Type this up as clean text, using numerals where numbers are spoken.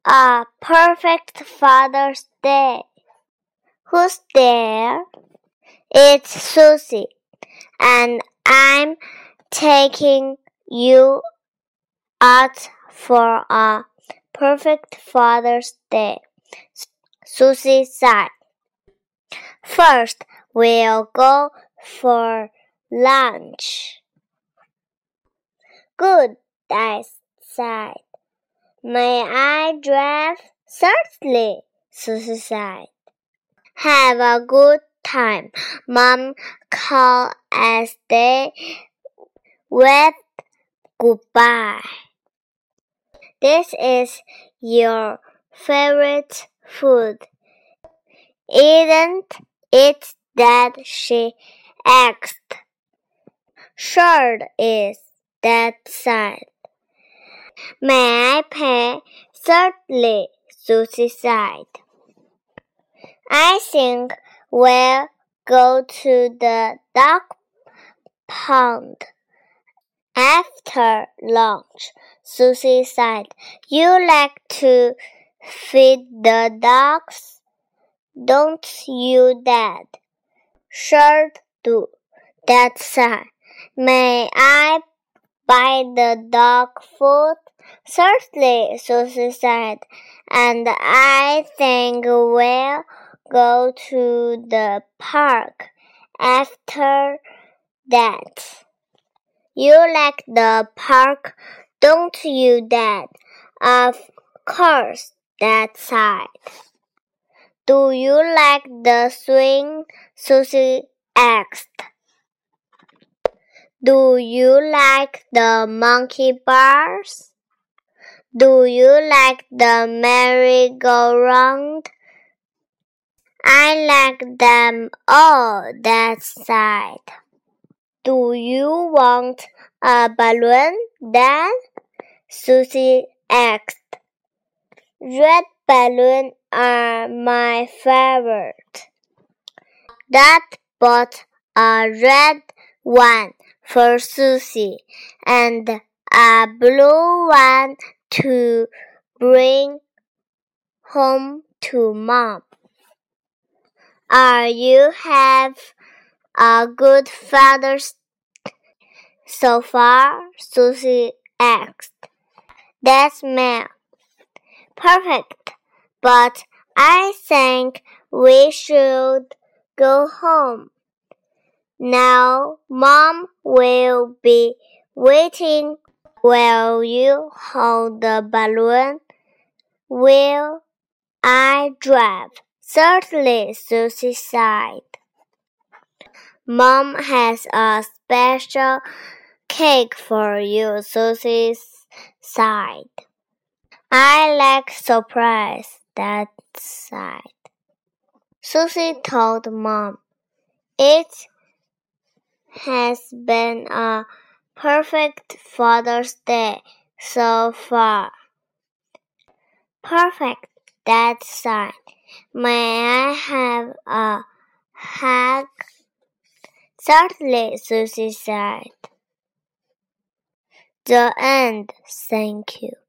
A perfect Father's Day. Who's there? It's Susie, and I'm taking you out for a perfect Father's Day, Susie said. First, we'll go for lunch. Good, Dad said. May I drive? Certainly, Susie said. Have a good time, Mom called as they waved goodbye. This is your favorite food, isn't it, Dad? She asked. Sure it is, Dad said. May I pay? Certainly, Susie said. I think we'll go to the duck pond after lunch, Susie said. You like to feed the ducks, don't you, Dad? Sure do, Dad said. May I buy the duck food? Certainly, Susie said, and I think we'll go to the park after that. You like the park, don't you, Dad? Of course, Dad said. Do you like the swing? Susie asked. Do you like the monkey bars? Do you like the merry-go-round? I like them all, Dad said. Do you want a balloon, Dad? Susie asked. Red balloons are my favorite. Dad bought a red one for Susie and a blue one to bring home to Mom. Are you have a good Father's so far? Susie asked. That's me. Perfect. But I think we should go home. Now Mom will be waiting. Will you hold the balloon? Will I drive? Certainly, Susie said. Mom has a special cake for you, Susie said. I like surprise, Dad said. Susie told Mom, it has been a perfect Father's Day so far. Perfect, Dad said. May I have a hug? Certainly, Susie said. The end. Thank you.